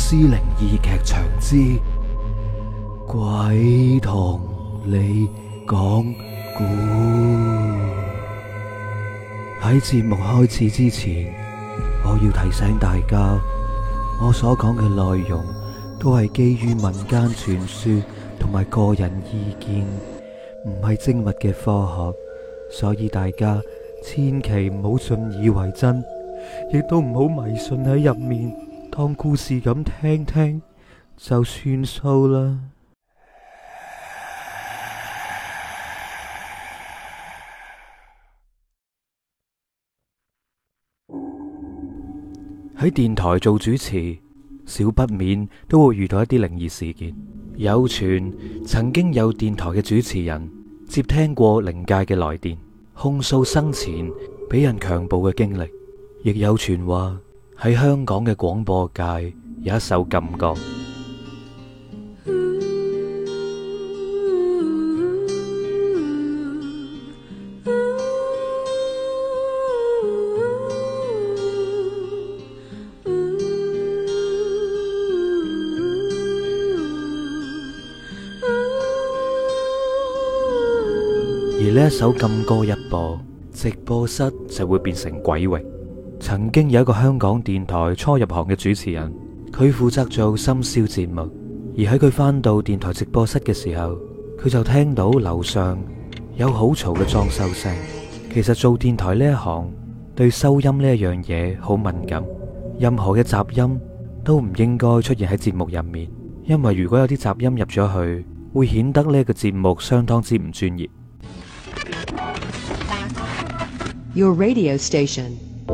屍靈異劇場之鬼同你講故。喺節目開始之前，我要提醒大家，我所講嘅內容都係基於民間傳說同埋個人意見，唔係精密嘅科學，所以大家千祈唔好信以為真，亦都唔好迷信喺入面，當故事咁聽聽就算數啦。喺電台做主持，少不免都會遇到一啲靈異事件。有傳曾經有電台嘅主持人接聽過靈界嘅來電，控訴生前俾人強暴嘅經歷。亦有傳話喺香港嘅廣播界有一首禁歌。而呢一首禁歌一播，直播室就會變成鬼域。曾經有一個香港電台初入行嘅主持人，佢負責做深宵節目，而喺佢返到電台直播室嘅時候，佢就聽到樓上有好嘈嘅裝修聲。其實做電台呢一行對收音呢一樣嘢好敏感，任何嘅雜音都唔應該出現喺節目入面，因為如果有啲雜音入咗去，會顯得呢個節目相當之唔專業。 Your radio station.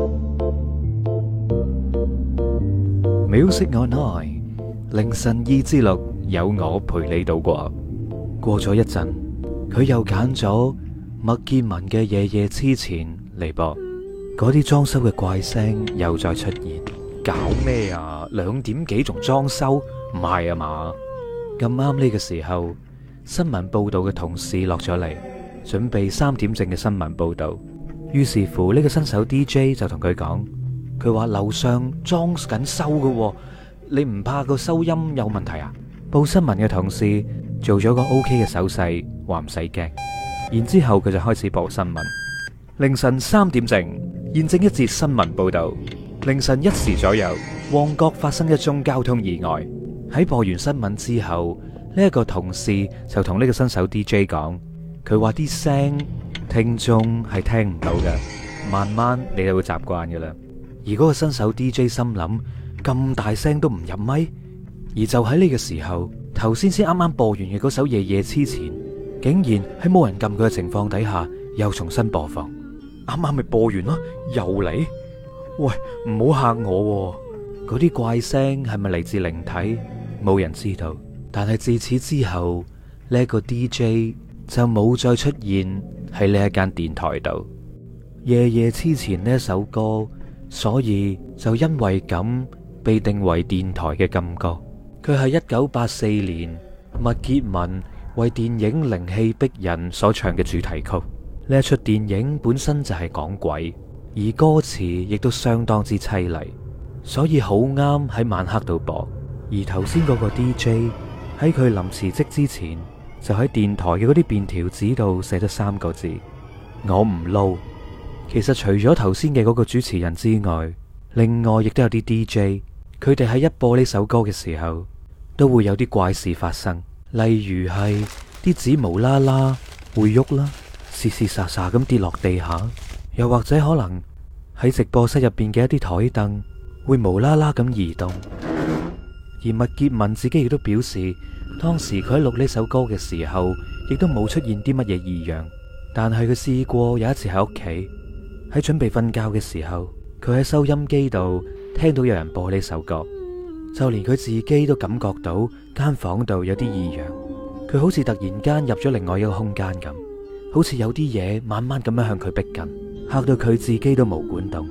Music Online 凌晨2至6有我陪你度過。過咗一陣，佢又揀咗麥潔文嘅《夜夜痴纏》嚟播。嗰啲裝修嘅怪聲又再出現。搞咩啊？2點幾仲裝修？唔係啊嘛？咁啱呢個時候，新聞報道嘅同事落咗嚟，準備3點正嘅新聞報道。於是乎呢個新手 DJ 就同佢講，佢話樓上裝緊修嘅，你唔怕個收音有問題啊？報新聞嘅同事做咗個 OK 嘅手勢，話唔使驚。然之後佢就開始播新聞。凌晨3點正，現正一節新聞報道。凌晨1時左右，旺角發生一宗交通意外。喺播完新聞之後，呢一個同事就同呢個新手 DJ 講，佢話啲聲聽眾係聽唔到嘅，慢慢你就會習慣嘅啦。而嗰個新手 DJ 心諗，咁大聲都唔入咪。而就喺呢個時候，頭先啱啱播完嘅嗰首《夜夜痴纏》，竟然喺冇人撳佢嘅情況底下，又重新播放。啱啱咪播完咯，又嚟？喂，唔好嚇我喎！嗰啲怪聲係咪嚟自靈體？冇人知道。但係自此之後，呢個 DJ 就冇再出現喺呢一間電台度。夜夜痴纏呢一首歌，所以就因為咁被定為電台嘅禁歌。佢係1984年麥潔文為電影《靈氣逼人》所唱嘅主題曲。呢一出電影本身就係講鬼，而歌詞亦都相當之淒厲，所以好啱喺晚黑度播。而頭先嗰個 DJ 喺佢臨辭職之前，就喺電台嘅嗰啲便條紙度寫咗3個字：我唔撈。其實除咗頭先嘅嗰個主持人之外，另外亦都有啲 DJ， 佢哋喺一播呢首歌嘅時候，都會有啲怪事發生。例如係啲紙無啦啦會喐啦，嘶嘶沙沙咁跌落地下，又或者可能喺直播室入邊嘅一啲台凳會無啦啦咁移動。而麥潔文自己亦都表示，當時佢喺錄呢首歌嘅時候，亦都冇出現啲乜嘢異樣。但係佢試過有一次喺屋企，喺準備瞓覺嘅時候，佢喺收音機度聽到有人播呢首歌，就連佢自己都感覺到間房度有啲異樣。佢好似突然間入咗另外一個空間咁，好似有啲嘢慢慢咁樣向佢逼近，嚇到佢自己都毛管動。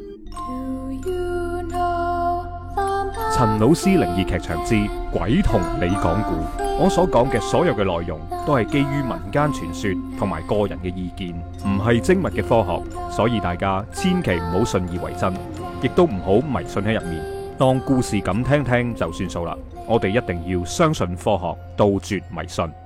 陳老師靈異劇場之鬼同你講故，我所講嘅所有嘅內容都係基於民間傳說同埋個人嘅意見，唔係精密嘅科學，所以大家千祈唔好信以為真，亦都唔好迷信喺入面， 當故事咁聽聽就算數啦。我哋一定要相信科學，杜絕迷信。